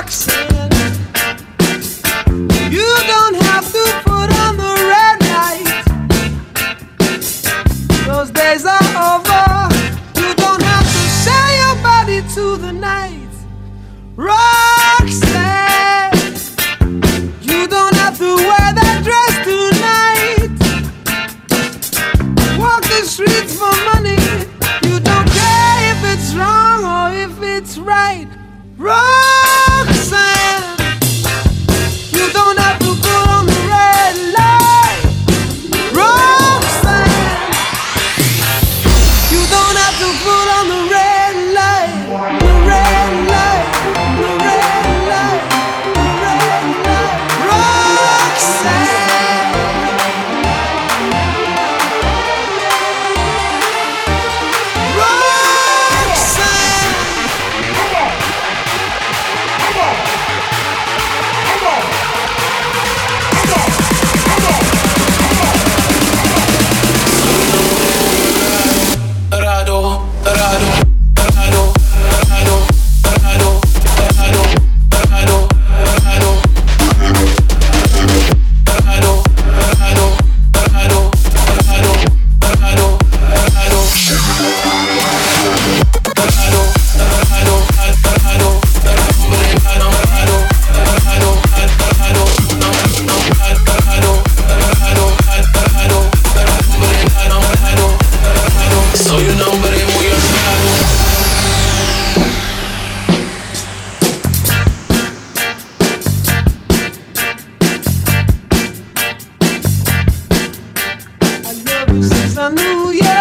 Roxanne, you don't have to put on the red light. Those days are over. You don't have to sell your body to the night. Roxanne, you don't have to wear that dress tonight. Walk the streets for money. You don't care if it's wrong or if it's right. Roxanne, you don't have to put on the red light. Roxanne, you don't have to put on the red light. The red light, the red light, the red light. Roxanne, Roxanne. I knew you,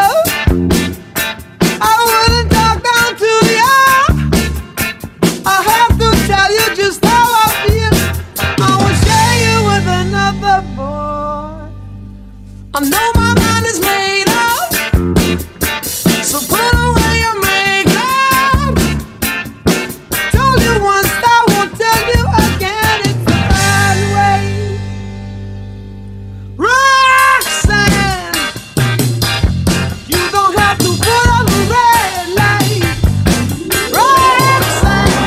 I wouldn't talk down to you. I have to tell you just how I feel. I will share you with another boy. I know my mind is made up, so put away your makeup. Told you once, I won't tell you again. It's the bad way. Roxanne, you don't have to put on the red light. Roxanne,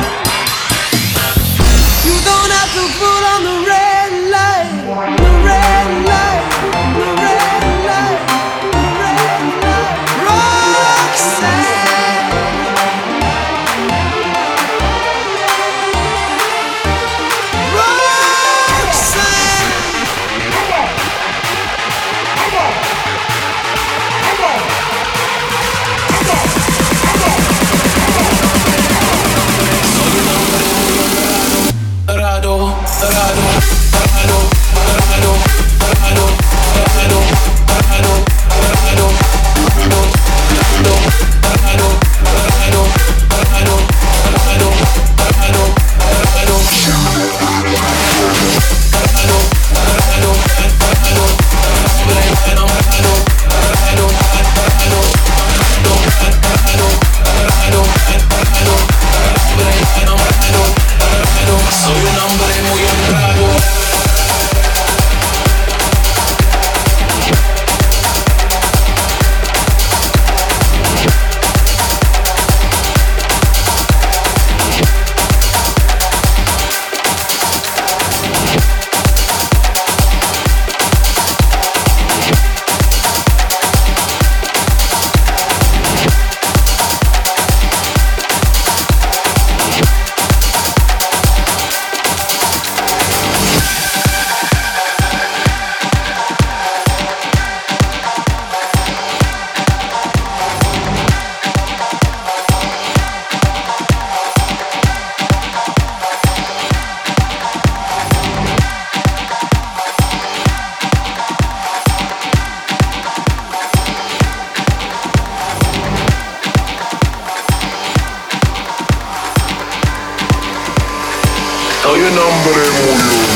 you don't have to put on the red light. The red light, the red light, the red light. Roxanne, Roxanne. Soy un hombre muy